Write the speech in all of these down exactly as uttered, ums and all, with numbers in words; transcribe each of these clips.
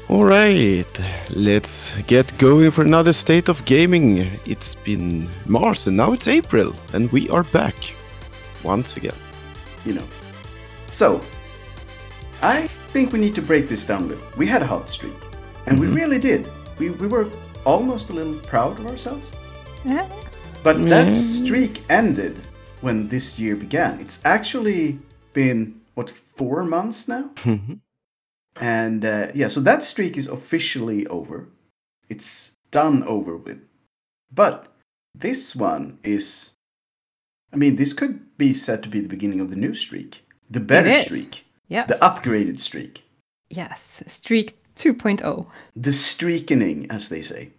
All right, let's get going for another State of Gaming. It's been March and now it's April, and we are back once again. You know. So, I think we need to break this down a little. We had a hot streak, and mm-hmm. we really did. We we were almost a little proud of ourselves. Yeah. But that streak ended when this year began. It's actually been, what, four months now? Mm-hmm. And uh, yeah, so that streak is officially over. It's done over with. But this one is, I mean, this could be said to be the beginning of the new streak. The better streak. Yes. The upgraded streak. Yes, streak two point oh. The streakening, as they say.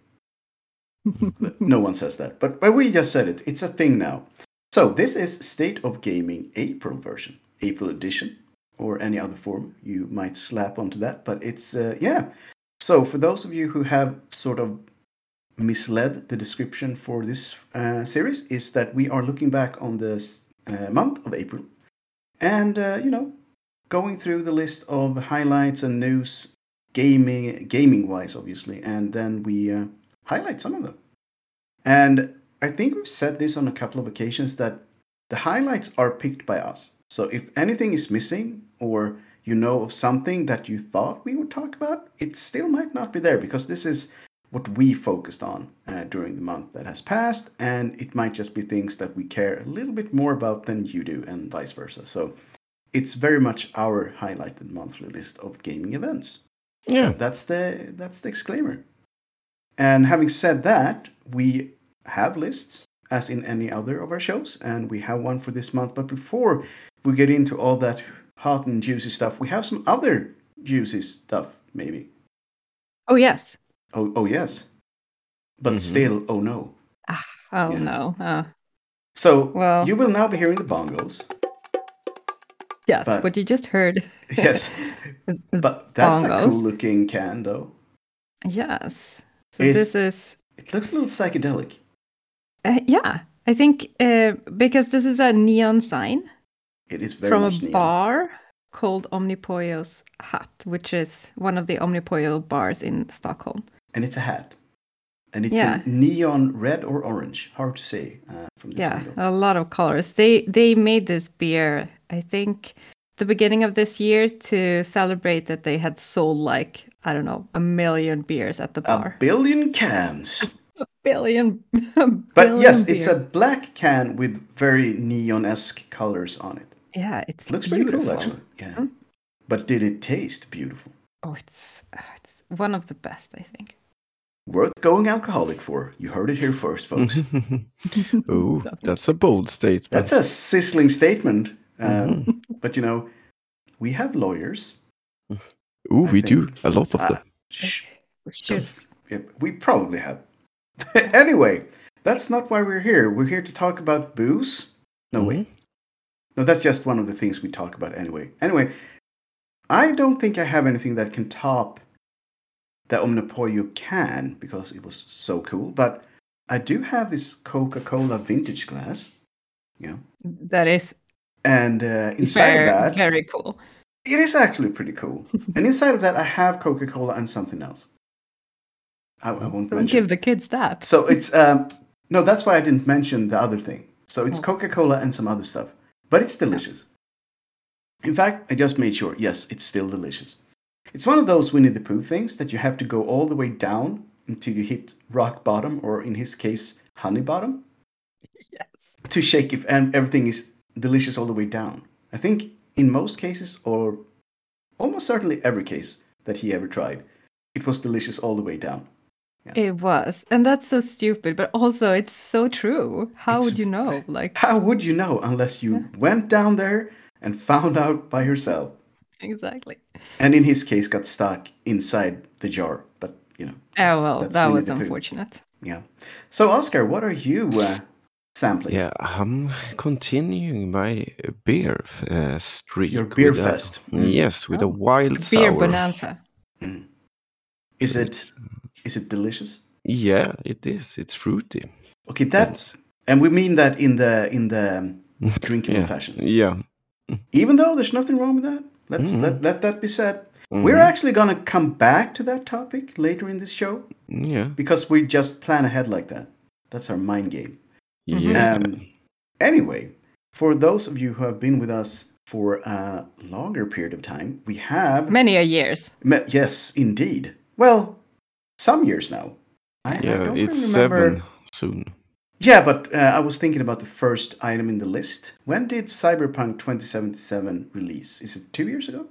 No one says that, but, but we just said it. It's a thing now. So this is State of Gaming April version, April edition. Or any other form you might slap onto that. But it's, uh, yeah. So for those of you who have sort of misled the description for this uh, series, is that we are looking back on this uh, month of April. And, uh, you know, going through the list of highlights and news, gaming, gaming-wise, obviously. And then we uh, highlight some of them. And I think we've said this on a couple of occasions that the highlights are picked by us. So if anything is missing, or you know of something that you thought we would talk about, it still might not be there, because this is what we focused on uh, during the month that has passed, and it might just be things that we care a little bit more about than you do, and vice versa. So it's very much our highlighted monthly list of gaming events. Yeah, that's the that's the disclaimer. And having said that, we have lists, as in any other of our shows, and we have one for this month. But before we get into all that hot and juicy stuff, we have some other juicy stuff, maybe. Oh, yes. Oh, oh yes. But mm-hmm. still, oh no. Ah, oh, yeah. no. Uh, so, well, you will now be hearing the bongos. Yes, but, what you just heard. Yes. But that's bongos. A cool-looking can, though. Yes. So it's, this is... It looks a little psychedelic. Uh, yeah, I think uh, because this is a neon sign. It is very from much a neon. bar called Omnipollo's Hut, which is one of the Omnipollo bars in Stockholm. And it's a hat. And it's yeah. in neon red or orange. Hard to say uh, from this yeah, angle. A lot of colors. They they made this beer, I think, the beginning of this year to celebrate that they had sold like, I don't know, a million beers at the bar. A billion cans. A billion. A but billion yes, beer. It's a black can with very neon-esque colors on it. Yeah, it's it looks beautiful. pretty cool, actually. Yeah. Mm-hmm. But did it taste beautiful? Oh, it's uh, it's one of the best, I think. Worth going alcoholic for. You heard it here first, folks. Oh, that's a bold statement. That's a sizzling statement. Um, mm-hmm. But, you know, we have lawyers. Oh, we think. do. A lot of uh, them. Shh. We should. Yeah, we probably have. Anyway, that's not why we're here. We're here to talk about booze. No, mm-hmm. wait. No, that's just one of the things we talk about anyway. Anyway, I don't think I have anything that can top the Omnipollo can, because it was so cool. But I do have this Coca-Cola vintage glass. Yeah. That is And uh, inside very, of that... Very cool. It is actually pretty cool. And inside of that, I have Coca-Cola and something else. I, I won't Don't mention. give the kids that. So it's... Um, no, that's why I didn't mention the other thing. So it's oh. Coca-Cola and some other stuff. But it's delicious. In fact, I just made sure. Yes, it's still delicious. It's one of those Winnie the Pooh things that you have to go all the way down until you hit rock bottom, or in his case, honey bottom. Yes. To shake if and everything is delicious all the way down. I think in most cases, or almost certainly every case that he ever tried, it was delicious all the way down. Yeah. It was. And that's so stupid, but also it's so true. How it's, would you know? Like, how would you know unless you yeah. went down there and found out by yourself? Exactly. And in his case, got stuck inside the jar. But, you know. Oh, well, that was unfortunate. Yeah. So, Oscar, what are you uh, sampling? Yeah, I'm continuing my beer uh, streak. Your beer fest. A, mm. Yes, with oh. a wild beer sour. Beer bonanza. Mm. Is it... Is it delicious? Yeah, it is. It's fruity. Okay, that's and we mean that in the in the drinkable yeah. fashion. Yeah. Even though there's nothing wrong with that. Let's mm-hmm. let, let that be said. Mhm. We're actually going to come back to that topic later in this show Yeah. because we just plan ahead like that. That's our mind game. Yeah. Um, anyway, for those of you who have been with us for a longer period of time, we have... Many a years. Me- yes, indeed. Well, some years now. I, I Yeah, don't it's really remember... seven soon. Yeah, but uh, I was thinking about the first item in the list. When did Cyberpunk twenty seventy-seven release? Is it two years ago?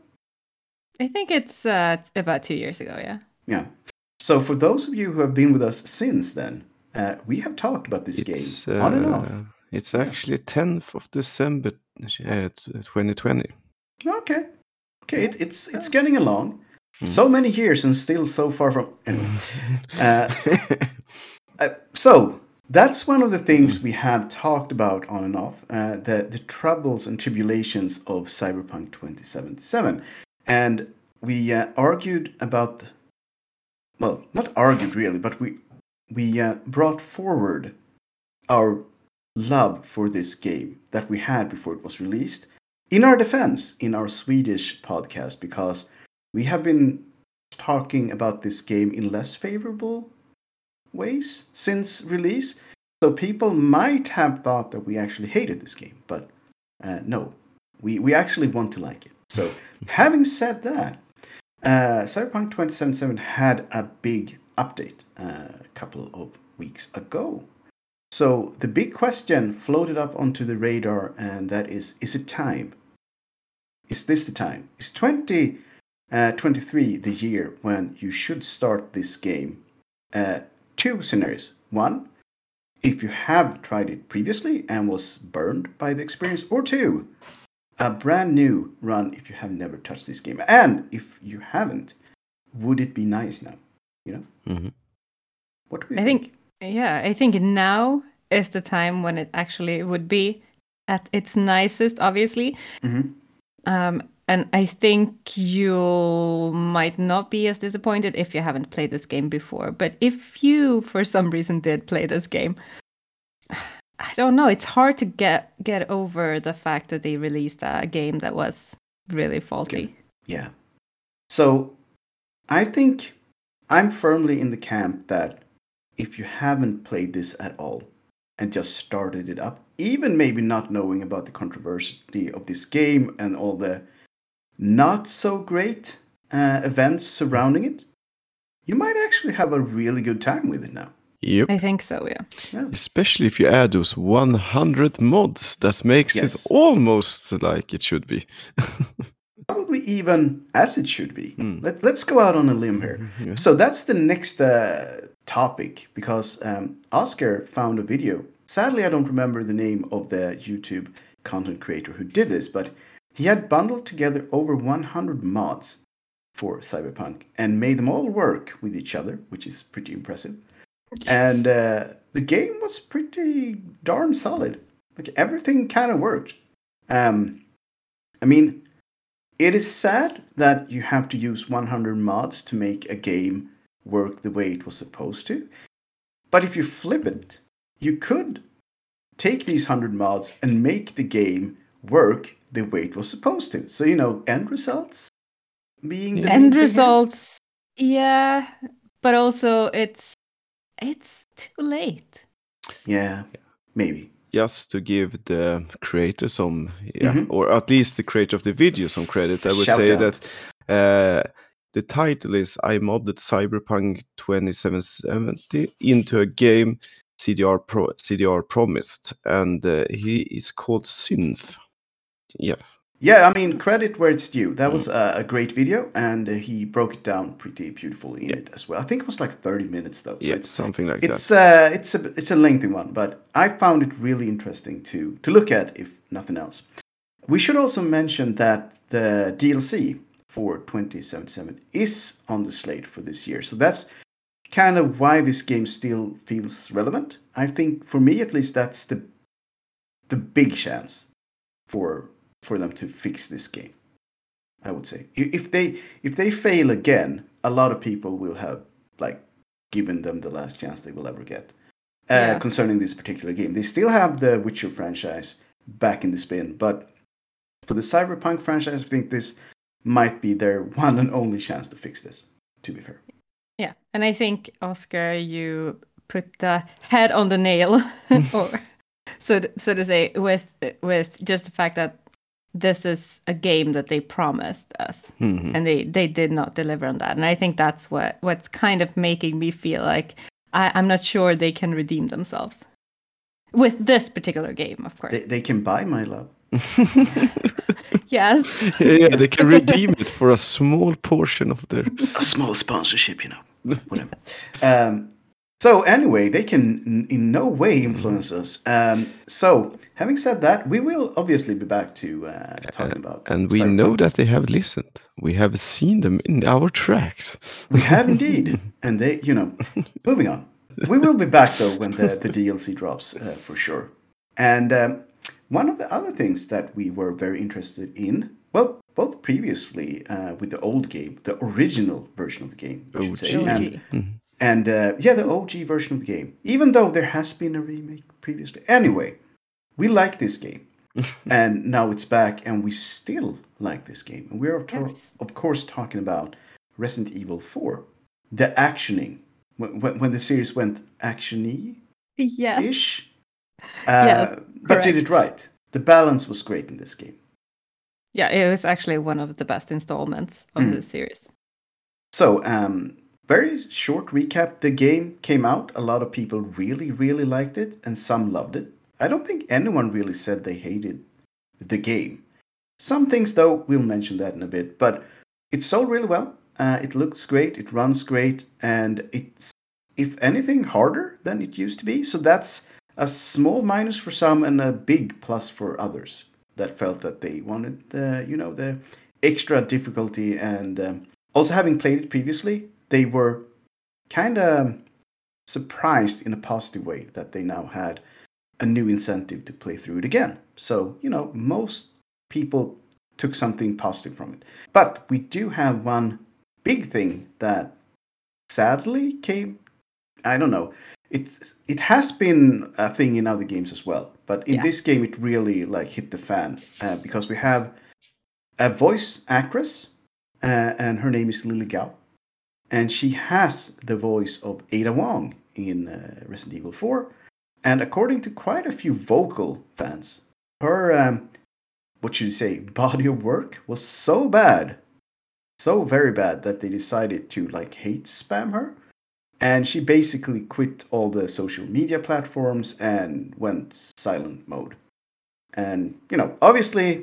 I think it's uh, it's about two years ago, yeah. Yeah. So for those of you who have been with us since then, uh, we have talked about this It's game on and off. uh, it's Yeah. actually tenth of December uh, twenty twenty. Okay. Okay, it, it's it's getting along. Mm. So many years and still so far from... Anyway. uh, uh, so, that's one of the things we have talked about on and off, uh, the, the troubles and tribulations of Cyberpunk twenty seventy-seven. And we uh, argued about... Well, not argued really, but we, we uh, brought forward our love for this game that we had before it was released in our defense in our Swedish podcast, because we have been talking about this game in less favorable ways since release. So people might have thought that we actually hated this game, but uh, no, we, we actually want to like it. So having said that, uh, Cyberpunk twenty seventy-seven had a big update uh, a couple of weeks ago. So the big question floated up onto the radar, and that is, is it time? Is this the time? Is twenty twenty-three the year when you should start this game? Uh, two scenarios. One, if you have tried it previously and was burned by the experience. Or two, a brand new run if you have never touched this game. And if you haven't, would it be nice now? You know? Mm-hmm. What do we I think? think, yeah, I think now is the time when it actually would be at its nicest, obviously. Mm-hmm. Um, and I think you might not be as disappointed if you haven't played this game before. But if you, for some reason, did play this game, I don't know. It's hard to get get over the fact that they released a game that was really faulty. Yeah. So I think I'm firmly in the camp that if you haven't played this at all and just started it up, even maybe not knowing about the controversy of this game and all the not so great uh, events surrounding it, you might actually have a really good time with it now. Yep. I think so, yeah. Yeah. Especially if you add those one hundred mods, that makes Yes. it almost like it should be. Probably even as it should be. Mm. Let, let's go out on a limb here. Yeah. So that's the next uh, topic, because um, Oscar found a video. Sadly, I don't remember the name of the YouTube content creator who did this, but he had bundled together over one hundred mods for Cyberpunk and made them all work with each other, which is pretty impressive. And uh, the game was pretty darn solid. Like, everything kind of worked. Um, I mean, it is sad that you have to use one hundred mods to make a game work the way it was supposed to. But if you flip it, you could take these one hundred mods and make the game work the way it was supposed to. So, you know, end results being the main End thing here. results, yeah, but also it's it's too late. Yeah, maybe. Just to give the creator some, yeah, Mhm. or at least the creator of the video some credit, I would Shout say out. that uh, the title is I modded Cyberpunk twenty-seven seventy into a game C D R Pro C D R promised, and uh, he is called Synth. Yeah, Yeah, I mean, credit where it's due. That was a, a great video, and uh, he broke it down pretty beautifully in Yeah. it as well. I think it was like thirty minutes though. So yeah, it's something like it's that. uh, it's a it's a lengthy one, but I found it really interesting to to look at, if nothing else. We should also mention that the D L C for twenty seventy-seven is on the slate for this year. So that's kind of why this game still feels relevant. I think, for me at least, that's the the big chance for for them to fix this game. I would say I- if they if they fail again, a lot of people will have like given them the last chance they will ever get uh, Yeah. concerning this particular game. They still have the Witcher franchise back in the spin, but for the Cyberpunk franchise, I think this might be their one and only chance to fix this, to be fair. Yeah, and I think, Oscar, you put the head on the nail, or so to, so to say, with with just the fact that this is a game that they promised us, Mhm. and they, they did not deliver on that. And I think that's what what's kind of making me feel like I, I'm not sure they can redeem themselves with this particular game, of course. They, they can buy my love. Yes. Yeah, they can redeem it for a small portion of their. A small sponsorship, you know, whatever. um, so anyway, they can n- in no way influence us. Um, so having said that, we will obviously be back to uh, talking about. And we Cyberpunk. know that they have listened. We have seen them in our tracks. We have indeed, and they, you know, moving on. We will be back though when the, the D L C drops uh, for sure. And um, one of the other things that we were very interested in, well, both previously uh, with the old game, the original version of the game, I should say, O G. and, O G. and uh, yeah, the O G version of the game. Even though there has been a remake previously, anyway, we like this game, and now it's back, and we still like this game. And we're of, to- Yes. of course talking about Resident Evil four, the actioning. When, when when the series went action-y Yes. ish. Uh, Yes, but did correct. it right. The balance was great in this game. Yeah, it was actually one of the best installments of Mm. the series. So, um, very short recap. The game came out. A lot of people really, really liked it, and some loved it. I don't think anyone really said they hated the game. Some things, though, we'll mention that in a bit. But it sold really well. Uh, it looks great. It runs great. And it's, if anything, harder than it used to be. So that's a small minus for some and a big plus for others that felt that they wanted, uh, you know, the extra difficulty. And um, also having played it previously, they were kind of surprised in a positive way that they now had a new incentive to play through it again. So, you know, most people took something positive from it. But we do have one big thing that sadly came, I don't know, it, it has been a thing in other games as well. But in Yeah. this game, it really like hit the fan uh, because we have a voice actress uh, and her name is Lily Gao. And she has the voice of Ada Wong in uh, Resident Evil four. And according to quite a few vocal fans, her, um, what should you say, body of work was so bad, so very bad that they decided to like hate spam her. And she basically quit all the social media platforms and went silent mode. And, you know, obviously,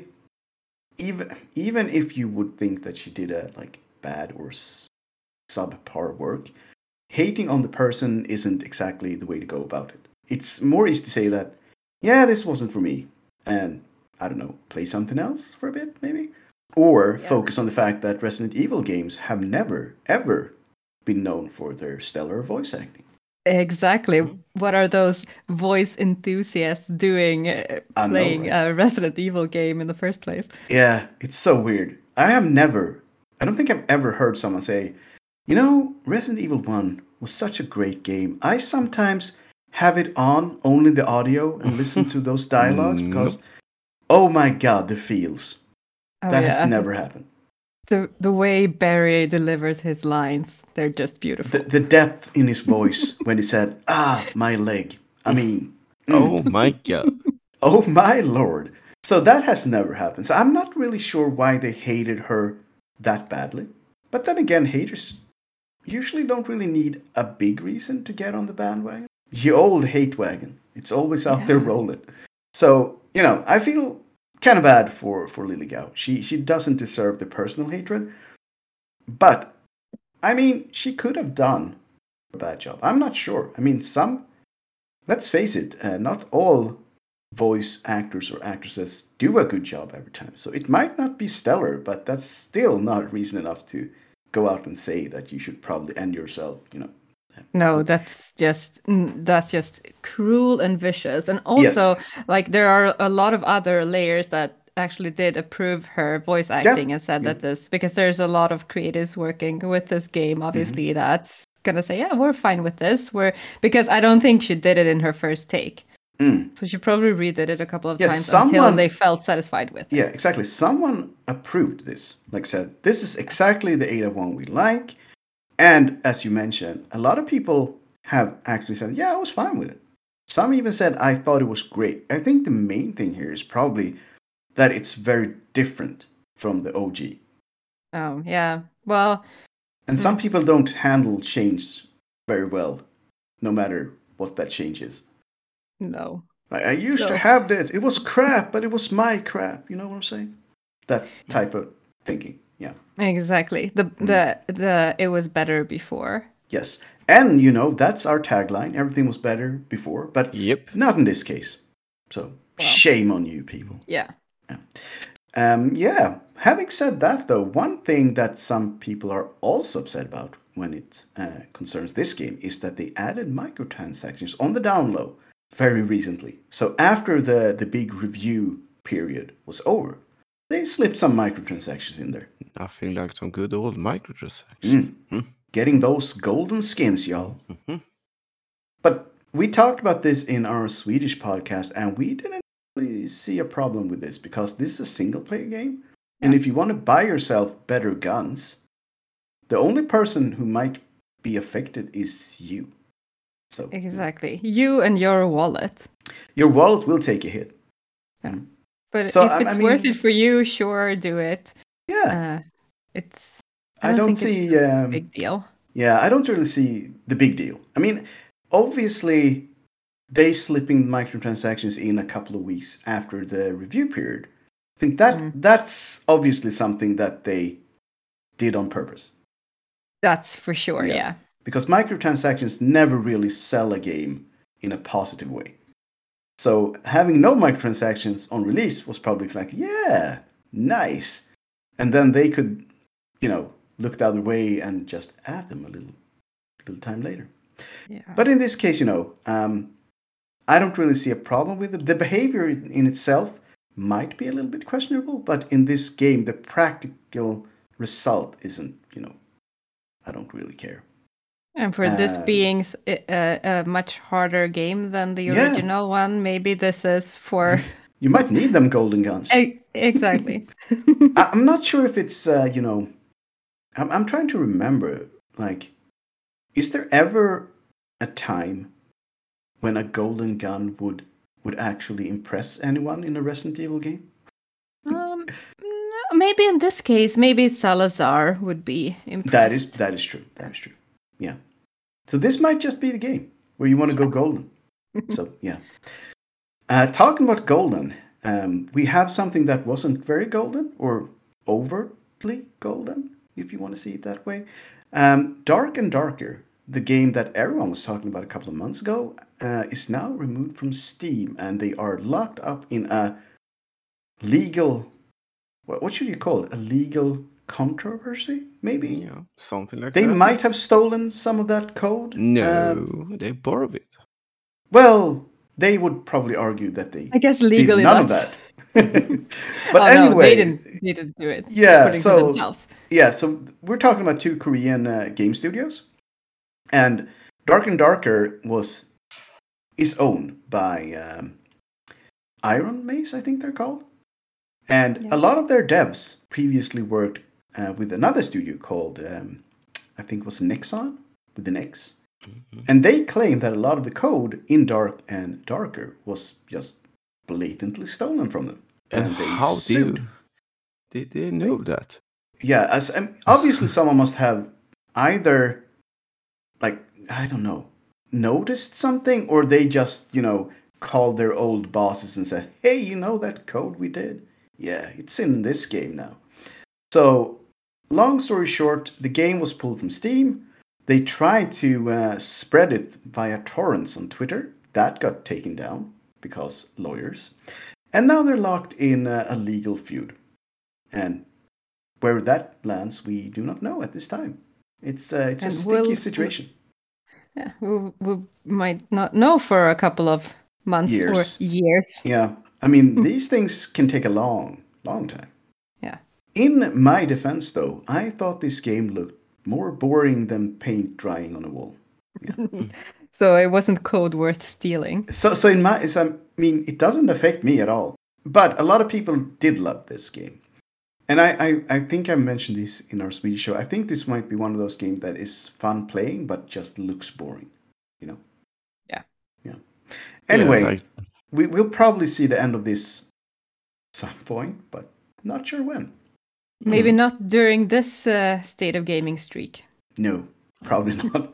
even even if you would think that she did a like bad or s- subpar work, hating on the person isn't exactly the way to go about it. It's more easy to say that, yeah, this wasn't for me, and I don't know, play something else for a bit, maybe? Or Yeah. focus on the fact that Resident Evil games have never, ever been known for their stellar voice acting. Exactly. Mm-hmm. What are those voice enthusiasts doing uh, I know, playing right? a Resident Evil game in the first place? Yeah, it's so weird. I have never, I don't think I've ever heard someone say, you know, Resident Evil one was such a great game. I sometimes have it on, only the audio, and listen to those dialogues because, oh my god, the feels. Oh, that yeah. has never happened. The, the way Barry delivers his lines, they're just beautiful. The, the depth in his voice when he said, ah, my leg. I mean, mm, Oh my god. oh my lord. So that has never happened. So I'm not really sure why they hated her that badly. But then again, haters usually don't really need a big reason to get on the bandwagon. The old hate wagon. It's always out there Yeah. rolling. So, you know, I feel kind of bad for, for Lily Gao. She, she doesn't deserve the personal hatred. But, I mean, she could have done a bad job. I'm not sure. I mean, some, let's face it, uh, not all voice actors or actresses do a good job every time. So it might not be stellar, but that's still not reason enough to go out and say that you should probably end yourself, you know. No, that's just mm, that's just cruel and vicious. And also, like, there are a lot of other layers that actually did approve her voice acting and said that this, because there's a lot of creatives working with this game, obviously, that's gonna say, yeah, we're fine with this. We're because I don't think she did it in her first take. Mm. So she probably redid it a couple of Yes, times someone- until they felt satisfied with it. Yeah, exactly. Someone approved this. Like said, this is exactly the Ada one we like. And as you mentioned, a lot of people have actually said, yeah, I was fine with it. Some even said, I thought it was great. I think the main thing here is probably that it's very different from the O G. Oh, yeah. Well, And some Mm. people don't handle change very well, no matter what that change is. no. Like, I used to No. have this. It was crap, but it was my crap. You know what I'm saying? That type of thinking. Yeah. Exactly. The Mm. the the it was better before. Yes. And, you know, that's our tagline. Everything was better before, but Yep. not in this case. So, shame on you, people. Yeah. Um, yeah. Having said that, though, one thing that some people are also upset about when it uh, concerns this game is that they added microtransactions on the down low very recently. So after the, the big review period was over, they slipped some microtransactions in there. Nothing like some good old microtransactions. Mm. Mm. Getting those golden skins, y'all. Mhm. But we talked about this in our Swedish podcast, and we didn't really see a problem with this because this is a single player game. And Yeah. if you want to buy yourself better guns, the only person who might be affected is you. So Exactly. You and your wallet. your wallet will take a hit. But So, if I- I it's worth mean- it for you, sure, do it. Yeah, Uh, it's. I, I don't, don't think see. it's a Um, big deal. yeah, I don't really see the big deal. I mean, obviously, they slipping microtransactions in a couple of weeks after the review period. I think that Mm. that's obviously something that they did on purpose. That's for sure. Yeah. Yeah. Because microtransactions never really sell a game in a positive way. So having no microtransactions on release was probably like, yeah, nice. And then they could, you know, look the other way and just add them a little, little time later. Yeah. But in this case, you know, um, I don't really see a problem with it. The behavior in in itself might be a little bit questionable, but in this game, the practical result isn't, you know, I don't really care. And for this Um, being s- a, a much harder game than the Yeah. original one, maybe this is for. You might need them golden guns. E- exactly. I- I'm not sure if it's, uh, you know, I'm, I'm trying to remember, like, is there ever a time when a golden gun would would actually impress anyone in a Resident Evil game? um, no, maybe in this case, maybe Salazar would be impressed. That is that is true. That is true. Yeah. So this might just be the game where you want to go golden. So yeah. Uh, talking about golden, um, we have something that wasn't very golden or overtly golden, if you want to see it that way. Um, Dark and Darker, the game that everyone was talking about a couple of months ago, uh, is now removed from Steam, and they are locked up in a legal. What, what should you call it? A legal controversy, maybe. Yeah, something like They that. might have stolen some of that code. No, Um, they borrowed it. well, they would probably argue that they I guess did legally none of that's- that. but oh, anyway, no, they didn't. They didn't do it. Yeah, according so- to themselves. yeah. So we're talking about two Korean uh, game studios, and Dark and Darker was is owned by um, Iron Mace, I think they're called, and Yeah. a lot of their devs previously worked uh, with another studio called um, I think it was Nexon with an X. Mhm. And they claim that a lot of the code in Dark and Darker was just blatantly stolen from them. And, And they how sued. do did they know that? Yeah, as um, obviously someone must have either, like, I don't know, noticed something, or they just, you know, called their old bosses and said, hey, you know that code we did? Yeah, it's in this game now. So, long story short, the game was pulled from Steam. They tried to uh, spread it via torrents on Twitter. That got taken down because lawyers. And now they're locked in uh, a legal feud. And where that lands, we do not know at this time. It's uh, it's a And sticky will- situation. Yeah, we, we might not know for a couple of months Years. or years. Yeah, I mean these things can take a long, long time. Yeah. In my defense, though, I thought this game looked more boring than paint drying on a wall. So it wasn't code worth stealing. So, so in my, so, I mean, it doesn't affect me at all. But a lot of people did love this game. And I, I, I think I mentioned this in our Swedish show. I think this might be one of those games that is fun playing, but just looks boring. You know? Yeah. Yeah. Anyway, Yeah, like- we, we'll probably see the end of this some point, but not sure when. Maybe not during this uh, State of Gaming streak. No, probably not.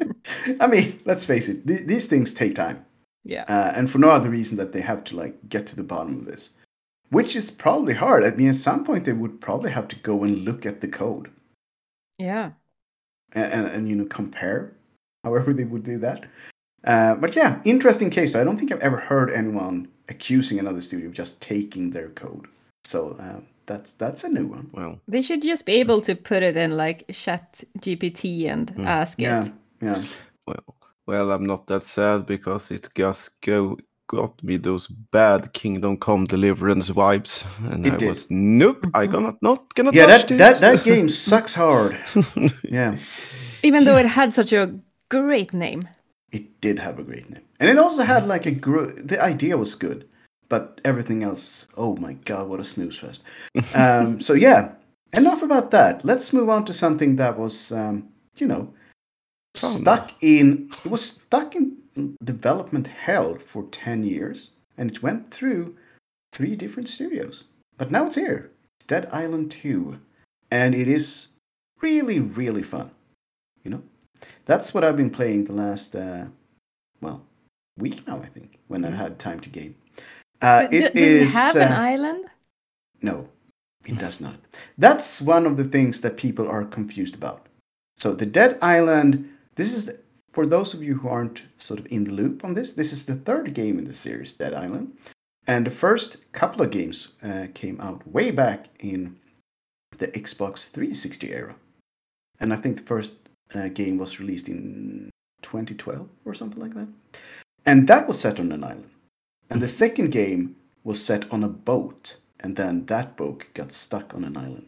I mean, let's face it, th- these things take time. Yeah. Uh, and for no other reason that they have to like get to the bottom of this, which is probably hard. I mean, at some point they would probably have to go and look at the code Yeah. and, and, and you know, compare however they would do that. Uh, but yeah, interesting case. I don't think I've ever heard anyone accusing another studio of just taking their code. So uh, that's that's a new one. Well, They should just be able to put it in like Chat G P T and ask Yeah, it. yeah. well, well, I'm not that sad because it just go got me those bad Kingdom Come Deliverance vibes, and It I did. was nope. I gonna not gonna Yeah, touch that, this. that, that game sucks hard. Yeah, Even though it had such a great name. it did have a great name. And it also had like a... Gr- the idea was good, but everything else... Oh my god, what a snooze fest. Um, so yeah, enough about that. Let's move on to something that was, um, you know, Fun. stuck in... It was stuck in development hell for ten years. And it went through three different studios. But now it's here. It's Dead Island two. And it is really, really fun. You know? That's what I've been playing the last, uh, well, week now, I think, when I had time to game. Uh, But it d- does is, it have an uh, island? No, it does not. That's one of the things that people are confused about. So the Dead Island, this is, for those of you who aren't sort of in the loop on this, this is the third game in the series, Dead Island. And the first couple of games uh, came out way back in the Xbox three sixty era. And I think the first uh, game was released in twenty twelve or something like that. And that was set on an island. And the second game was set on a boat. And then that boat got stuck on an island.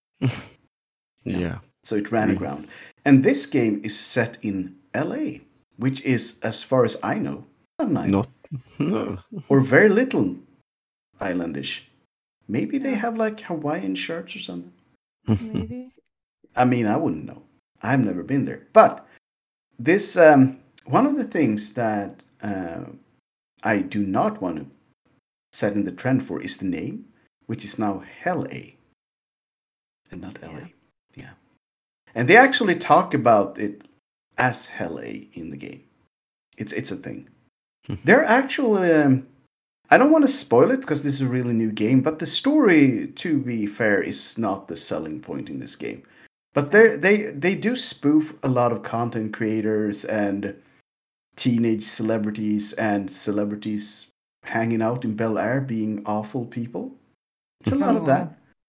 Yeah. So it ran Mm. aground. And this game is set in L A, which is, as far as I know, not an island. Not. No. Or very little islandish. Maybe they have like Hawaiian shirts or something. Maybe. I mean, I wouldn't know. I've never been there. But this, um, one of the things that uh, I do not want to set in the trend for is the name, which is now Hell A. And not L A. Yeah. Yeah. And they actually talk about it as Hell A in the game. It's it's a thing. They're actually... Um, I don't want to spoil it because this is a really new game, but the story, to be fair, is not the selling point in this game. But they they they do spoof a lot of content creators and teenage celebrities and celebrities hanging out in Bel Air being awful people. It's a lot of that.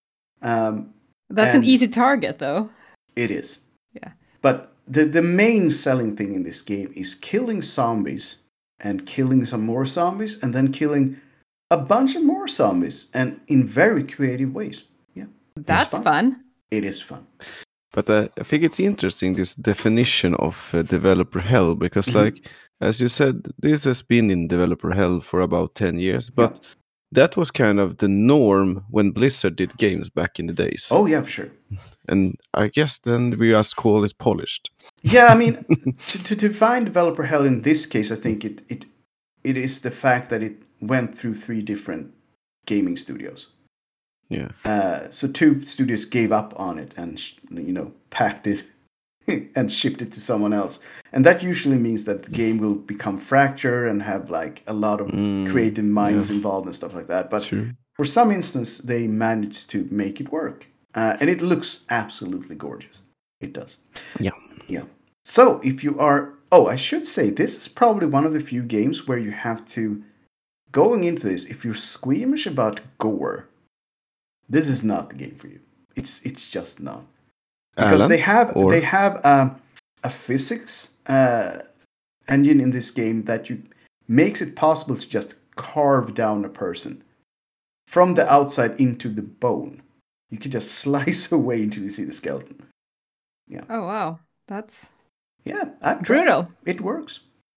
Um, That's And- an easy target, though. it is. Yeah. But the the main selling thing in this game is killing zombies and killing some more zombies and then killing a bunch of more zombies and in very creative ways. Yeah. That's fun. fun. It is fun. But uh, I think it's interesting, this definition of uh, developer hell, because Mhm. like, as you said, this has been in developer hell for about ten years, but that was kind of the norm when Blizzard did games back in the days. Oh yeah, for sure. And I guess then we just call it polished. Yeah, I mean, to, to define developer hell in this case, I think it, it it is the fact that it went through three different gaming studios. Yeah. Uh, so two studios gave up on it and sh- you know packed it and shipped it to someone else, and that usually means that the game will become fractured and have like a lot of Mm, creative minds yeah. involved and stuff like that. But True. for some instance, they managed to make it work, uh, and it looks absolutely gorgeous. It does. Yeah. Yeah. So if you are, oh, I should say this is probably one of the few games where you have to, going into this, if you're squeamish about gore, this is not the game for you. It's it's just not, because Alan, they have or- they have um, a physics uh, engine in this game that you makes it possible to just carve down a person from the outside into the bone. You can just slice away until you see the skeleton. Oh, wow. That's Yeah, I've tried. brutal. It works.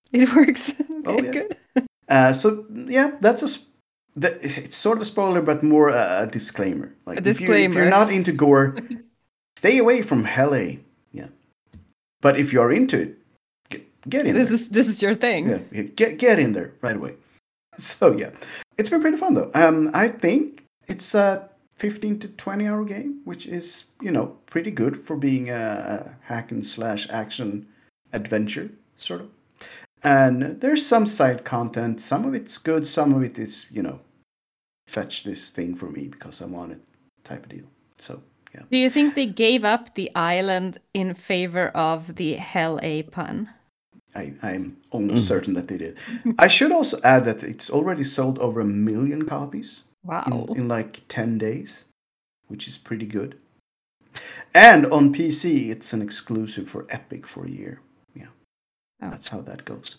It works. Oh, Okay, yeah. good. Uh, so yeah, that's a s- that, it's sort of a spoiler, but more a, a disclaimer. Like A if you if you're disclaimer. not into gore, stay away from Hell A. Yeah, but if you're into it, get, get in This there. is this is your thing. Yeah, yeah, get get in there right away. So yeah, it's been pretty fun though. Um, I think it's a fifteen to twenty hour game, which is you know pretty good for being a hack and slash action adventure sort of. And there's some side content. Some of it's good. Some of it is you know fetch this thing for me because I want it type of deal. So yeah. Do you think they gave up the island in favor of the Hell A pun? I, I'm almost certain that they did. I should also add that it's already sold over a million copies Wow. in, in like ten days, which is pretty good. And on P C, it's an exclusive for Epic for a year. Yeah, Oh. that's how that goes.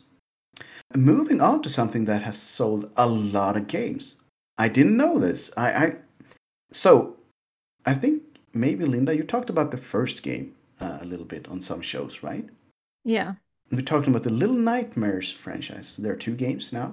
Moving on to something that has sold a lot of games. I didn't know this. I, I so I think maybe Linda, you talked about the first game uh, a little bit on some shows, right? Yeah. We're talking about the Little Nightmares franchise. There are two games now.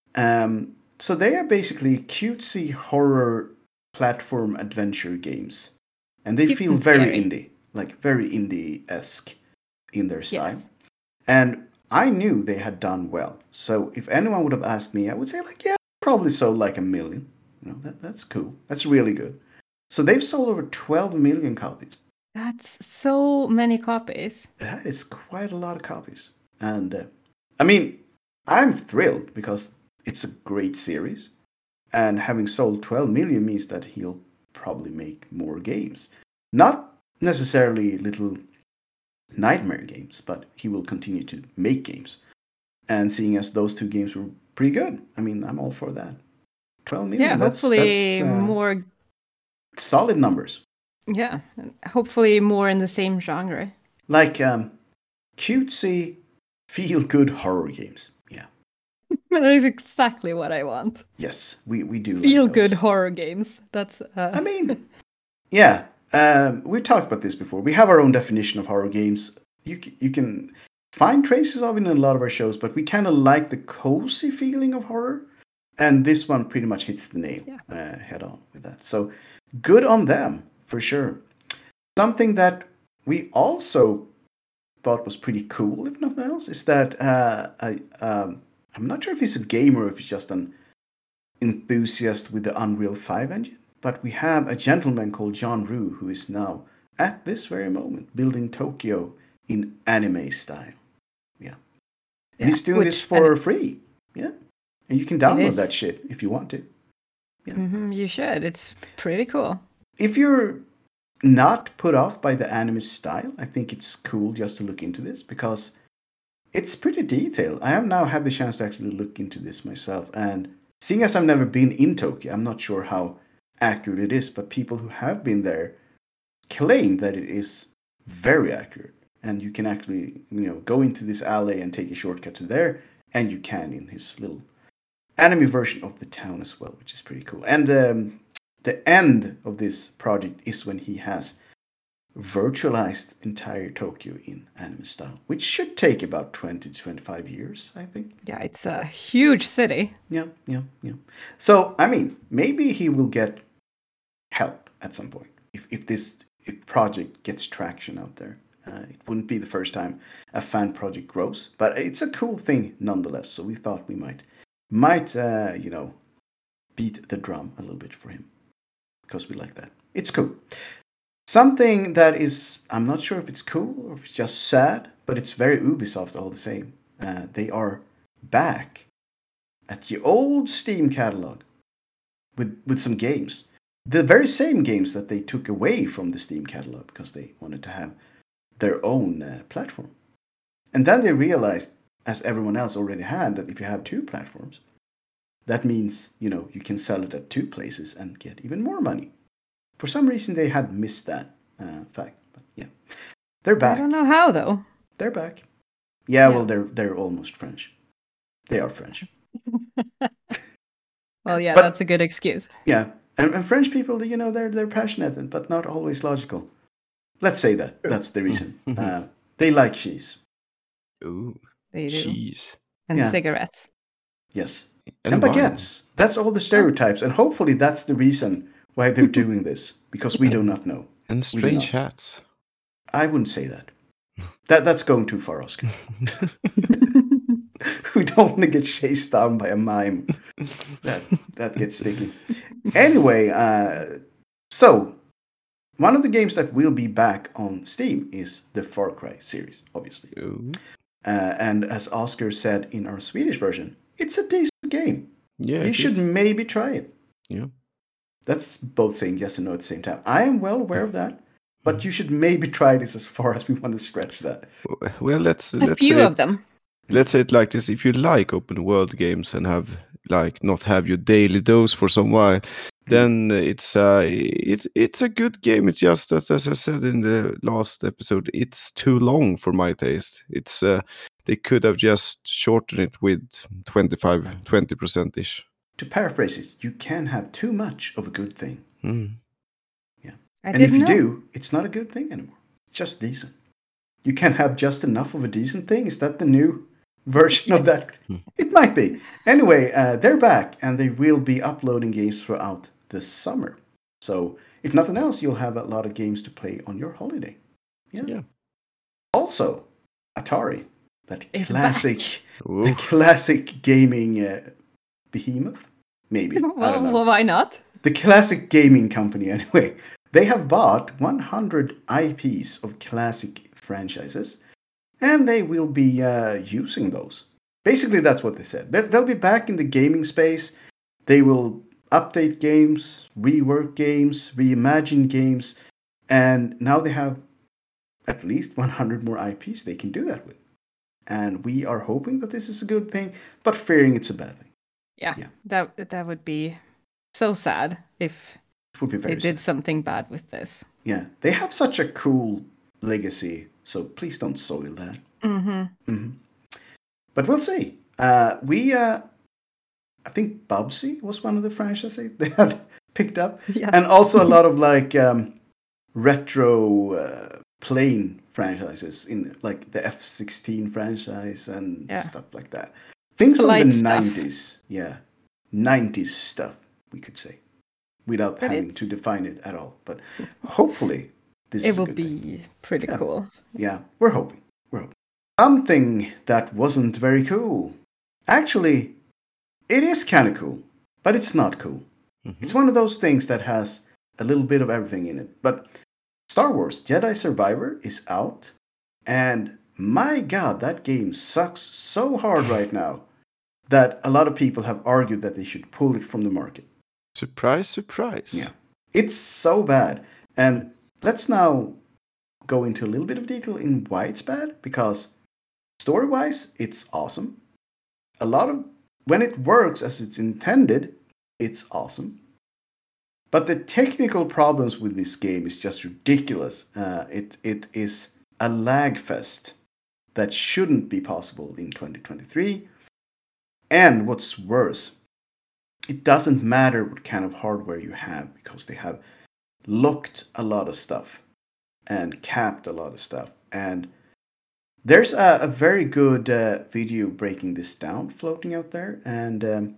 Um, so they are basically cutesy horror platform adventure games. And they Cute feel and very scary. indie, like very indie-esque in their style. Yes. And I knew they had done well. So if anyone would have asked me, I would say like, yeah, probably sold like a million. You know, that, that's cool. That's really good. So they've sold over twelve million copies. That's so many copies. That is quite a lot of copies. And uh, I mean, I'm thrilled because it's a great series. And having sold twelve million means that he'll probably make more games. Not necessarily little nightmare games, but he will continue to make games. And seeing as those two games were pretty good, I mean, I'm all for that. twelve million, Yeah, that's, hopefully that's uh, more. solid numbers. Yeah, hopefully more in the same genre. Like um, cutesy, feel-good horror games. Yeah. That's exactly what I want. Yes, we, we do Feel like good those. horror games. That's. Uh... I mean, yeah. Um, we talked about this before. We have our own definition of horror games. You c- you can find traces of it in a lot of our shows, but we kind of like the cozy feeling of horror, and this one pretty much hits the nail Yeah. uh, head on with that. So good on them for sure. Something that we also thought was pretty cool, if nothing else, is that uh, I um, I'm not sure if he's a gamer or if he's just an enthusiast with the Unreal five engine. But we have a gentleman called John Rue who is now, at this very moment, building Tokyo in anime style. Yeah. And Yeah, he's doing which- this for and- free. Yeah. And you can download is. that shit if you want to. Mhm, you should. It's pretty cool. If you're not put off by the anime style, I think it's cool just to look into this because it's pretty detailed. I have now had the chance to actually look into this myself. And seeing as I've never been in Tokyo, I'm not sure how accurate it is, but people who have been there claim that it is very accurate. And you can actually, you know, go into this alley and take a shortcut to there, and you can in his little anime version of the town as well, which is pretty cool. And um, the end of this project is when he has virtualized entire Tokyo in anime style, which should take about twenty to twenty-five years, I think. Yeah, it's a huge city. Yeah, yeah, yeah. So, I mean, maybe he will get help at some point if, if this if project gets traction out there. Uh, it wouldn't be the first time a fan project grows, but it's a cool thing nonetheless. So we thought we might might uh, you know beat the drum a little bit for him because we like that. It's cool. Something that is, I'm not sure if it's cool or if it's just sad, but it's very Ubisoft all the same. Uh, they are back at the old Steam catalog with with some games. The very same games that they took away from the Steam catalog because they wanted to have their own uh, platform. And then they realized, as everyone else already had, that if you have two platforms, that means, you know, you can sell it at two places and get even more money. For some reason, they had missed that uh, fact. But yeah, they're back. I don't know how though. They're back. Yeah, Yeah. well, they're they're almost French. They are French. Well, yeah, But- that's a good excuse. Yeah, and, and French people, you know, they're they're passionate, but not always logical. Let's say that. That's the reason. Uh, they like cheese. Ooh. They do. Cheese. And Yeah. cigarettes. Yes. And, And wine. baguettes. That's all the stereotypes. And hopefully that's the reason why they're doing this. Because we do not know. And We do strange not. hats. I wouldn't say that. That That's going too far, Oscar. We don't want to get chased down by a mime. That that gets sticky. Anyway, uh, so one of the games that will be back on Steam is the Far Cry series, obviously. Ooh. Uh, and as Oscar said in our Swedish version, it's a decent game. Yeah. You it should is. maybe try it. Yeah. That's both saying yes and no at the same time. I am well aware of that, but you should maybe try this as far as we want to stretch that. Well, let's A let's few say of it, them. let's say it like this: if you like open world games and have like not have your daily dose for some while, then it's uh it, it's a good game. It's just that, as I said in the last episode, it's too long for my taste. It's uh, they could have just shortened it with twenty-five, twenty percent ish. To paraphrase it, you can have too much of a good thing. Mm. I And if didn't you know. do, it's not a good thing anymore. It's just decent. You can have just enough of a decent thing. Is that the new version of that? It might be. Anyway, uh, they're back and they will be uploading games throughout the summer. So, if nothing else, you'll have a lot of games to play on your holiday. Yeah. Yeah. Also, Atari, that It's classic, Ooh. the classic gaming uh, behemoth. Maybe I don't Well, know. well, why not? The classic gaming company, anyway. They have bought one hundred I Ps of classic franchises, and they will be uh, using those. Basically, that's what they said. They're, they'll be back in the gaming space. They will update games, rework games, reimagine games, and now they have at least one hundred more I Ps they can do that with. And we are hoping that this is a good thing, but fearing it's a bad thing. Yeah, Yeah. that that would be so sad if It would be they very did sad. something bad with this. Yeah, they have such a cool legacy, so please don't soil that. Mm-hmm. hmm But we'll see. Uh, we, uh, I think Bubsy was one of the franchises they had picked up, Yes. and also a lot of like um, retro uh, plane franchises in like the F sixteen franchise and Yeah. stuff like that. Things from Polite the stuff. nineties, yeah, nineties stuff we could say, without But having to it's- define it at all. But hopefully, this It is a will good be thing. pretty Yeah. cool. Yeah, we're hoping. We're hoping. Something that wasn't very cool. Actually, it is kind of cool, but it's not cool. Mhm. It's one of those things that has a little bit of everything in it. But Star Wars Jedi Survivor is out, and my god, that game sucks so hard right now that a lot of people have argued that they should pull it from the market. Surprise, surprise. Yeah. It's so bad. And let's now go into a little bit of detail in why it's bad, because story-wise, it's awesome. A lot of when it works as it's intended, it's awesome. But the technical problems with this game is just ridiculous. Uh, it it is a lag fest that shouldn't be possible in twenty twenty-three. And what's worse, it doesn't matter what kind of hardware you have, because they have locked a lot of stuff and capped a lot of stuff. And there's a, a very good uh, video breaking this down floating out there, and um,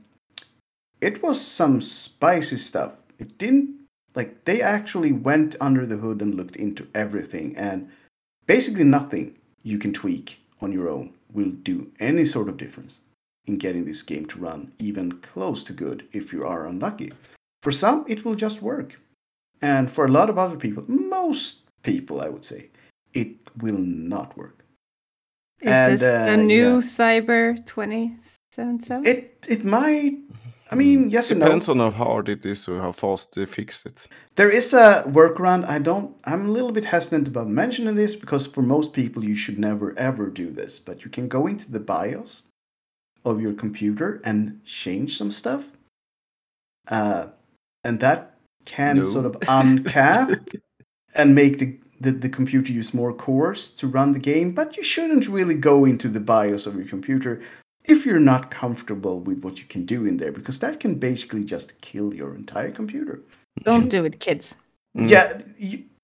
it was some spicy stuff. It didn't, like, they actually went under the hood and looked into everything, and basically nothing you can tweak on your own will do any sort of difference in getting this game to run even close to good if you are unlucky. For some, it will just work. And for a lot of other people, most people, I would say, it will not work. Is And, this the uh, new yeah. Cyber twenty seventy-seven? It it might, I mean, yes and no. Depends on how hard it is or how fast they fix it. There is a workaround. I don't, I'm a little bit hesitant about mentioning this because for most people, you should never ever do this. But you can go into the BIOS of your computer and change some stuff. Uh, and that can No. sort of uncap and make the, the, the computer use more cores to run the game. But you shouldn't really go into the BIOS of your computer if you're not comfortable with what you can do in there, because that can basically just kill your entire computer. Don't do it, kids. Mm. Yeah, you,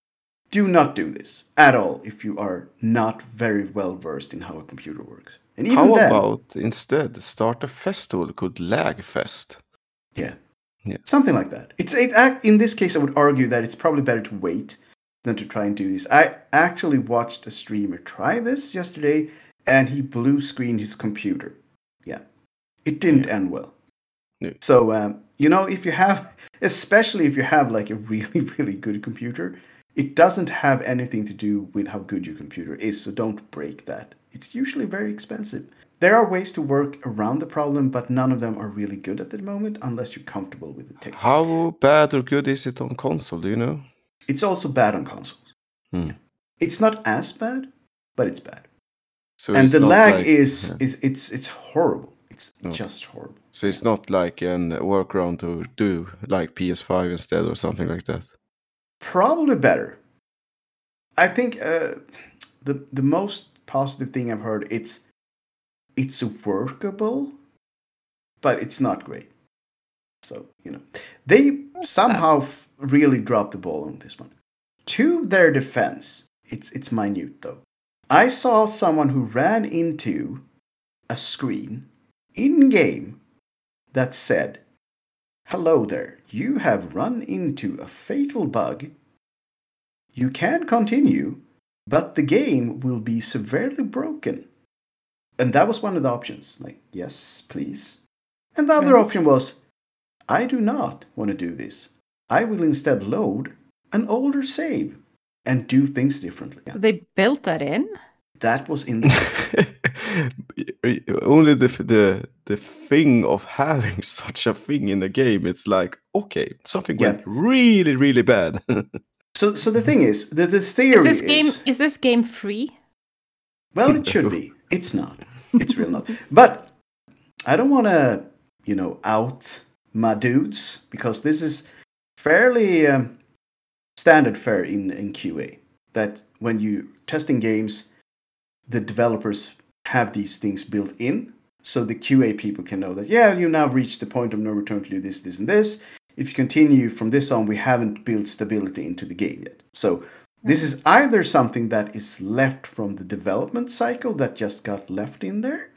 do not do this at all if you are not very well versed in how a computer works. And even How then, about instead start a festival called Lagfest? yeah, Yeah. something like that. It's it, ac- in this case, I would argue that it's probably better to wait than to try and do this. I actually watched a streamer try this yesterday, and he blue screened his computer. Yeah, it didn't Yeah. end well. No. So um, you know, if you have, especially if you have like a really really good computer, it doesn't have anything to do with how good your computer is. So don't break that. It's usually very expensive. There are ways to work around the problem, but none of them are really good at the moment unless you're comfortable with the tech. How bad or good is it on console? Do you know? It's also bad on consoles. Hmm. It's not as bad, but it's bad. So and it's the not lag like- is yeah. is it's it's horrible. It's No. just horrible. So it's not like an workaround to do like P S five instead or something like that. Probably better. I think uh, the the most positive thing I've heard it's it's workable, but it's not great. So you know they somehow f- really dropped the ball on this one. To their defense, it's it's minute though. I saw someone who ran into a screen in game that said, "Hello there. You have run into a fatal bug. You can continue, but the game will be severely broken." And that was one of the options. Like, yes, please. And the other Right. option was, I do not want to do this. I will instead load an older save and do things differently. Yeah, They built that in. that was in the Only the the the thing of having such a thing in the game, it's like, okay, something Yeah. went really, really bad. So so the thing is, the, the Is theory this game is, is this game free? well, it should be. It's not. It's real not. But I don't want to, you know, out my dudes because this is fairly um, standard fare in, in Q A. That when you testing games, the developers have these things built in, so the Q A people can know that yeah, you now reached the point of no return to do this, this, and this. If you continue from this on, we haven't built stability into the game yet. So this is either something that is left from the development cycle that just got left in there,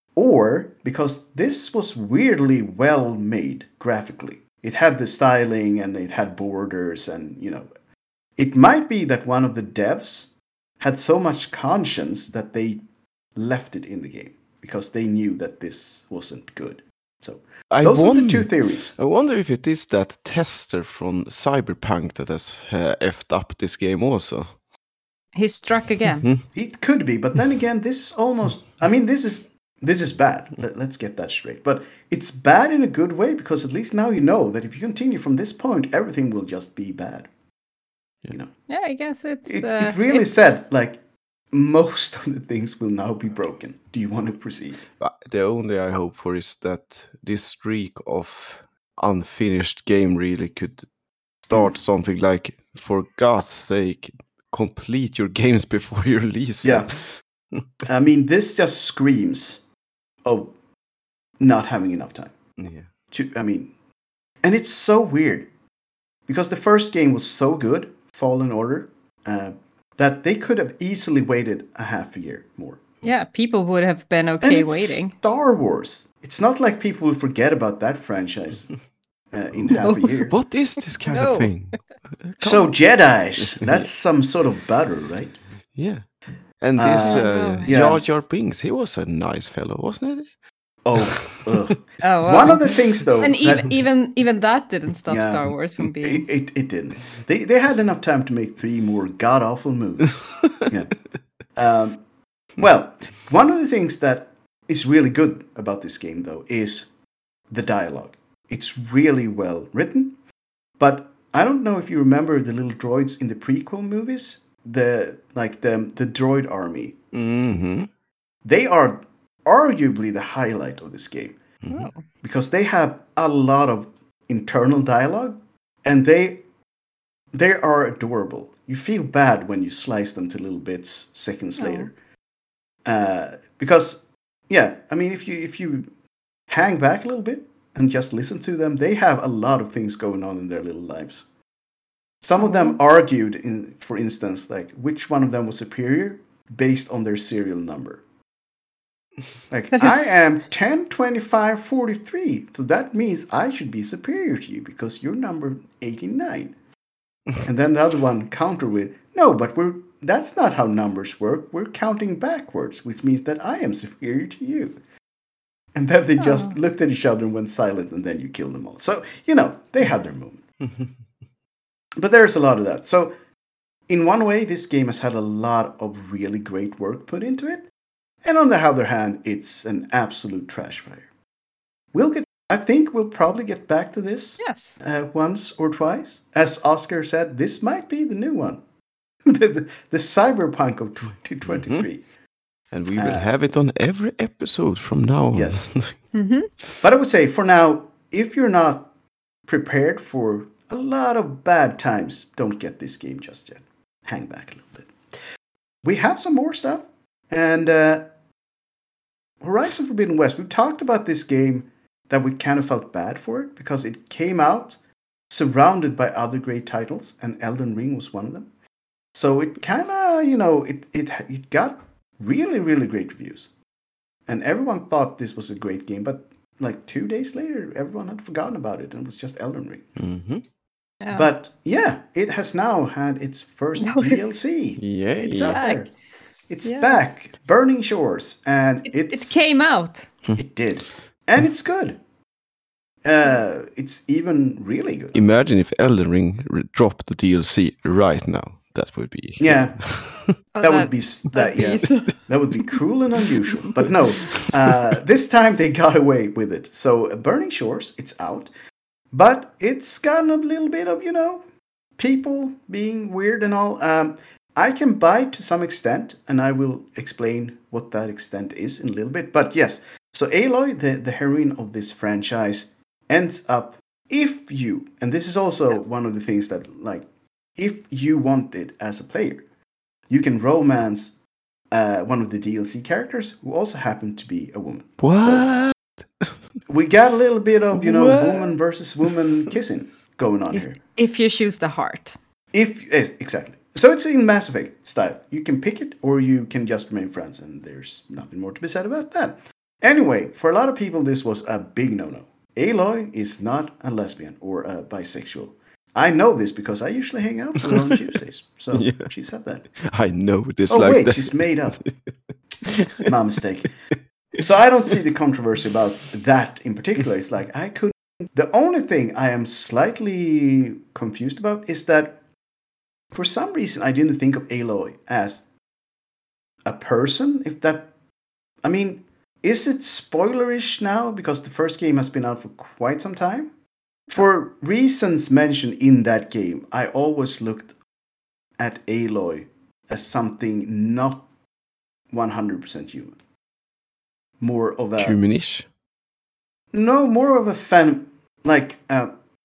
or because this was weirdly well made graphically. It had the styling and it had borders and, you know, it might be that one of the devs had so much conscience that they left it in the game because they knew that this wasn't good. So I those are the wonder, two theories. I wonder if it is that tester from Cyberpunk that has uh, effed up this game also. He struck again. Hmm. It could be, but then again, this is almost. I mean, this is this is bad. Let, let's get that straight. But it's bad in a good way because at least now you know that if you continue from this point, everything will just be bad. You know, Yeah, I guess it's. it, uh, it really it's- said like most of the things will now be broken. Do you want to proceed? But the only I hope for is that this streak of unfinished game really could start something like, for God's sake, complete your games before you release Yeah. them. I mean, this just screams of not having enough time. Yeah. To, I mean, and it's so weird because the first game was so good, Fallen Order, uh, that they could have easily waited a half a year more. Yeah, people would have been And okay it's waiting. Star Wars. It's not like people will forget about that franchise uh, in half a year. What is this kind No. of thing? So Jedi's, that's some sort of butter, right? Yeah. And this Uh, uh, yeah. Jar Jar Binks, he was a nice fellow, wasn't he? Oh, ugh. Oh, wow. One of the things though, and even that- even even that didn't stop Yeah. Star Wars from being. It, it, it didn't. They they had enough time to make three more god awful movies. yeah. Um, well, one of the things that is really good about this game, though, is the dialogue. It's really well written, but I don't know if you remember the little droids in the prequel movies, the like the the droid army. Mm-hmm. They are arguably the highlight of this game Oh. because they have a lot of internal dialogue, and they they are adorable. You feel bad when you slice them to little bits seconds Oh. later, uh, because yeah, I mean, if you if you hang back a little bit and just listen to them, they have a lot of things going on in their little lives. Some of them argued, in, for instance, like which one of them was superior based on their serial number. Like, That I is- am ten, twenty-five, forty-three, so that means I should be superior to you because you're number eighty-nine. And then the other one countered with, no, but we're that's not how numbers work. We're counting backwards, which means that I am superior to you. And then they just Oh. looked at each other and went silent, and then you killed them all. So, you know, they had their moment. But there's a lot of that. So, in one way, this game has had a lot of really great work put into it. And on the other hand, it's an absolute trash fire. We'll get, I think we'll probably get back to this Yes. uh, once or twice. As Oscar said, this might be the new one. the, the, the cyberpunk of twenty twenty-three. And we will Uh, have it on every episode from now on. Yes. Mm-hmm. But I would say for now, if you're not prepared for a lot of bad times, don't get this game just yet. Hang back a little bit. We have some more stuff. And uh, Horizon Forbidden West, we've talked about this game that we kind of felt bad for it because it came out surrounded by other great titles, and Elden Ring was one of them. So it kind of, you know, it, it it got really, really great reviews. And everyone thought this was a great game, but like two days later, everyone had forgotten about it, and it was just Elden Ring. Mm-hmm. Yeah. But yeah, it has now had its first No, D L C. Yay. It's out Back. there. It's Yes. back. Burning Shores. And it, it's it came out. It did. And it's good. Uh, it's even really good. Imagine if Elden Ring re- dropped the D L C right now. That would be... Yeah. Oh, That would be s- that that'd be yeah. so- That would be cruel and unusual. But no, uh, this time they got away with it. So uh, Burning Shores, it's out. But it's gotten a little bit of, you know, people being weird and all. Um, I can buy to some extent, and I will explain what that extent is in a little bit. But yes, so Aloy, the, the heroine of this franchise, ends up, if you, and this is also Yeah. one of the things that, like, if you want it as a player, you can romance uh, one of the D L C characters who also happen to be a woman. What? We got a little bit of, you know, What? woman versus woman kissing going on If, here. if you choose the heart. If yes, exactly. So it's in Mass Effect style. You can pick it, or you can just remain friends, and there's nothing more to be said about that. Anyway, for a lot of people, this was a big no-no. Aloy is not a lesbian or a bisexual. I know this because I usually hang out with her on Tuesdays. So Yeah. she said that. I know this Oh like wait, that. she's made up. My mistake. So I don't see the controversy about that in particular. It's like I couldn't. The only thing I am slightly confused about is that for some reason I didn't think of Aloy as a person. If that, I mean, is it spoilerish now because the first game has been out for quite some time? For reasons mentioned in that game, I always looked at Aloy as something not one hundred percent human. More of a Humanish. no, more of a fan. Like uh,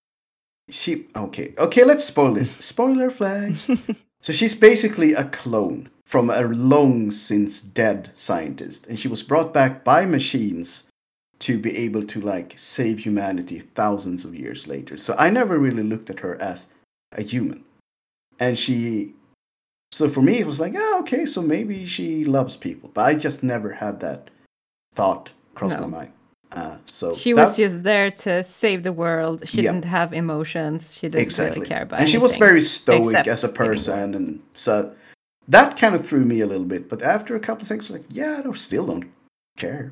she. Okay, okay. Let's spoil this. Spoiler flags. So she's basically a clone from a long since dead scientist, and she was brought back by machines to be able to like save humanity thousands of years later. So I never really looked at her as a human, and she. So for me, it was like, ah, okay, so maybe she loves people, but I just never had that thought cross No. my mind. Uh, so She that- was just there to save the world. She Yeah. didn't have emotions. She didn't exactly, really care about and she anything. was very stoic except as a saving the person, and so that kind of threw me a little bit. But after a couple of seconds, I was like, yeah, I don't, still don't care.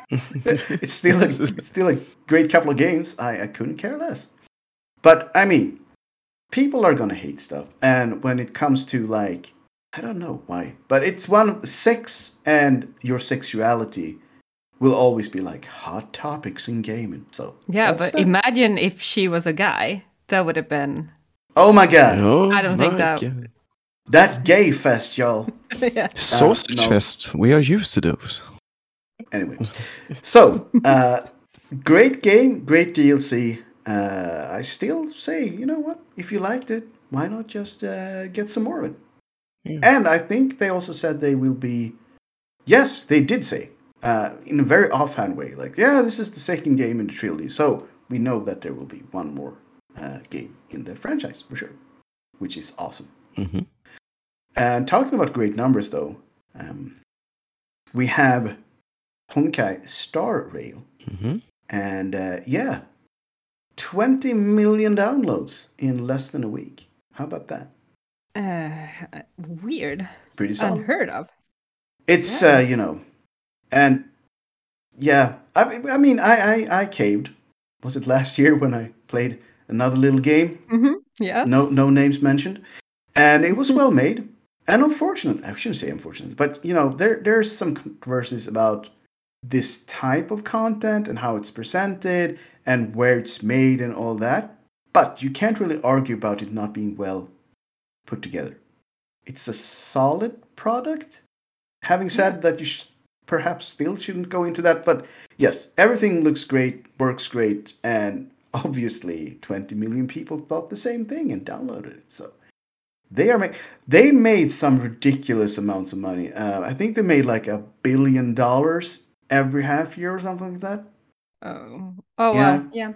it's still a, it's still a great couple of games. I, I couldn't care less. But I mean, people are gonna hate stuff, and when it comes to like, I don't know why, but it's one of sex and your sexuality will always be like hot topics in gaming. So Yeah, that's but that. imagine if she was a guy. That would have been. Oh my god, Oh I don't think my that- God. that gay fest, y'all. yeah. Sausage no. Fest. We are used to those. Anyway, so uh, great game, great D L C. Uh, I still say, you know what? If you liked it, why not just uh, get some more of it? Yeah. And I think they also said they will be. Yes, they did say uh, in a very offhand way, like, yeah, this is the second game in the trilogy, so we know that there will be one more uh, game in the franchise for sure. which is awesome. Mm-hmm. And talking about great numbers, though, um, we have Honkai Star Rail. Mm-hmm. And uh, yeah, twenty million downloads in less than a week. How about that? Uh, weird. Pretty solid. Unheard of. It's, Yeah. uh, you know, and yeah, I, I mean, I, I, I caved. Was it last year when I played another little game? Mm-hmm. Yes. No, no names mentioned. And it was well made. And unfortunate, I shouldn't say unfortunate, but, you know, there there's some controversies about this type of content and how it's presented and where it's made and all that. But you can't really argue about it not being well put together. It's a solid product. Having said that, you sh- perhaps still shouldn't go into that. But yes, everything looks great, works great, and obviously twenty million people thought the same thing and downloaded it. So they are ma- they made some ridiculous amounts of money. Uh, I think they made like a billion dollars every half year or something like that. Oh. Oh, Yeah. wow. Yeah.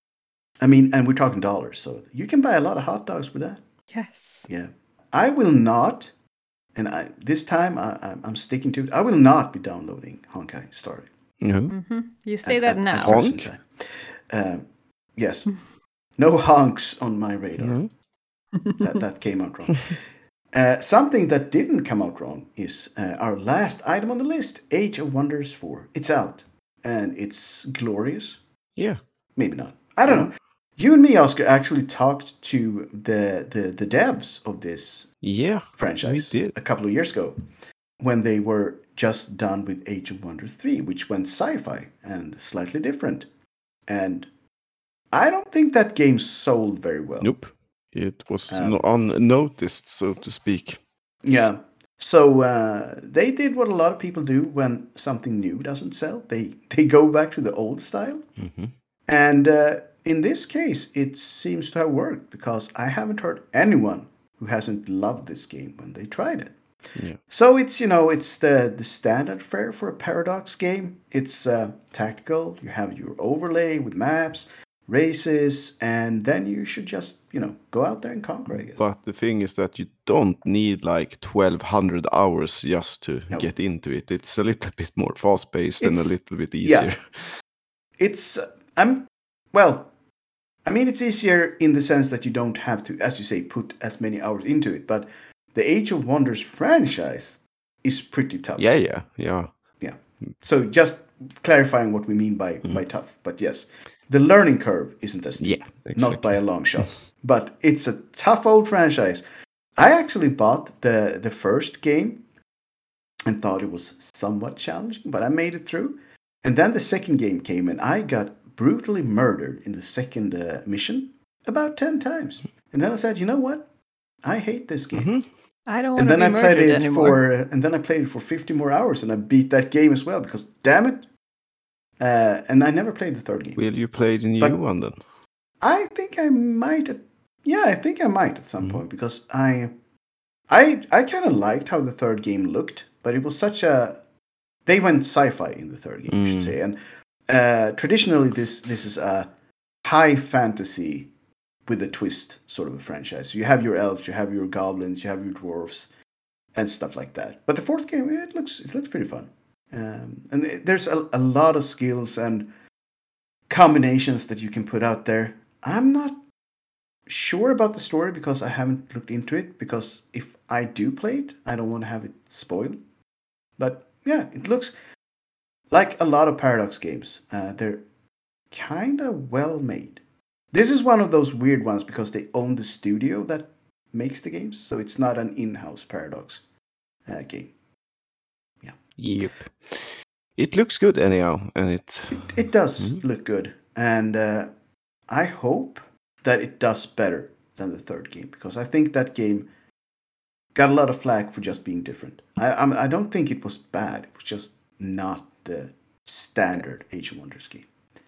I mean, and we're talking dollars, so you can buy a lot of hot dogs for that. Yes. Yeah. I will not, and I this time I, I'm, I'm sticking to it. I will not be downloading Honkai Star Rail. No. Mm-hmm. You say at- that at- now. at present Honk? time. Um, yes. No honks on my radar. No. That, that came out wrong. Uh, something that didn't come out wrong is uh, our last item on the list, Age of Wonders four. It's out, and it's glorious. Yeah. Maybe not. I don't know. You and me, Oscar, actually talked to the, the, the devs of this Yeah. franchise We did. a couple of years ago when they were just done with Age of Wonders three, which went sci-fi and slightly different. And I don't think that game sold very well. Nope. It was Um, no- unnoticed, so to speak. Yeah. So uh, they did what a lot of people do when something new doesn't sell. They they go back to the old style. Mm-hmm. And uh, in this case, it seems to have worked because I haven't heard anyone who hasn't loved this game when they tried it. Yeah. So it's, you know, it's the, the standard fare for a Paradox game. It's uh, tactical. You have your overlay with maps, races, and then you should just, you know, go out there and conquer, I guess. But the thing is that you don't need like twelve hundred hours just to No. get into it. It's a little bit more fast-paced and a It's- little bit yeah. easier. It's, uh, I'm, well, I mean, it's easier in the sense that you don't have to, as you say, put as many hours into it. But the Age of Wonders franchise is pretty tough. Yeah, yeah, yeah. So just clarifying what we mean by, Mhm. by tough. But yes, the learning curve isn't as steep. Yeah, Not by exactly. a long shot. But it's a tough old franchise. I actually bought the, the first game and thought it was somewhat challenging, but I made it through. And then the second game came and I got brutally murdered in the second uh, mission about ten times. And then I said, you know what? I hate this game. Mhm. I don't want And to then be I played murdered it anymore. for, uh, and then I played it for fifty more hours, and I beat that game as well because, damn it! Uh, and I never played the third game. Will you play the new But- one then? I think I might. At, yeah, I think I might at some Mhm. point because I, I, I kind of liked how the third game looked, but it was such a. They went sci-fi in the third game, I should Mm. say, and uh, traditionally this this is a high fantasy with a twist sort of a franchise. So you have your elves, you have your goblins, you have your dwarves, and stuff like that. But the fourth game, it looks it looks pretty fun, um, and it, there's a, a lot of skills and combinations that you can put out there. I'm not sure about the story because I haven't looked into it. Because if I do play it, I don't want to have it spoiled. But yeah, it looks like a lot of Paradox games. Uh, they're kind of well made. This is one of those weird ones because they own the studio that makes the games, so it's not an in-house Paradox uh, game. Yep. It looks good anyhow, and it. It, it does Mhm. look good, and uh, I hope that it does better than the third game because I think that game got a lot of flack for just being different. I I'm, I don't think it was bad; it was just not the standard Age of Wonders game.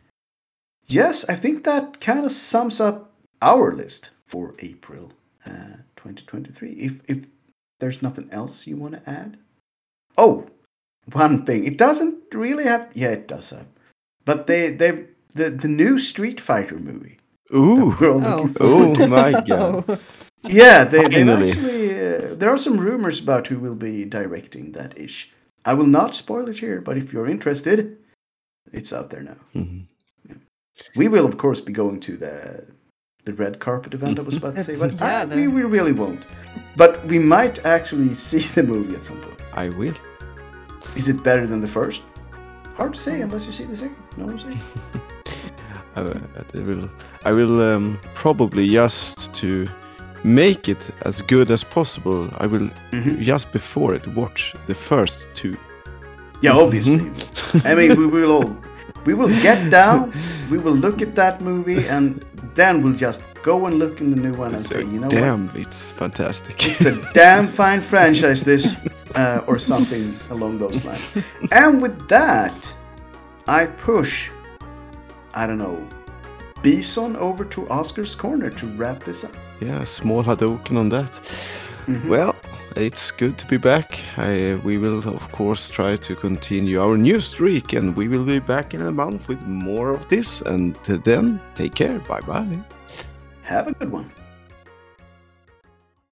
Yes, I think that kind of sums up our list for April uh, twenty twenty-three. If if there's nothing else you want to add, oh, one thing. It doesn't really have. Yeah, it does have. But they they the the new Street Fighter movie. Ooh! We're all Oh. looking forward Oh to. my god! Oh. Yeah, they, they've Finally. actually. Uh, there are some rumors about who will be directing that ish. I will not spoil it here, but if you're interested, it's out there now. Mhm. We will, of course, be going to the the red carpet event. I was about to say, but Yeah, I- the- we, we really won't. But we might actually see the movie at some point. I will. Is it better than the first? Hard to say unless you see the second. No one say. I, I will. I will um, probably just to make it as good as possible. I will Mhm. just before it watch the first two. Yeah, obviously. Mhm. I mean, we will all, we will get down, we will look at that movie, and then we'll just go and look in the new one and So, say, you know damn, what? it's fantastic. It's a damn fine franchise, this, uh, or something along those lines. And with that, I push, I don't know, Bison over to Oscar's corner to wrap this up. Yeah, small Hadouken on that. Mhm. Well, it's good to be back. I, we will, of course, try to continue our new streak, and we will be back in a month with more of this. And then, take care. Bye bye. Have a good one.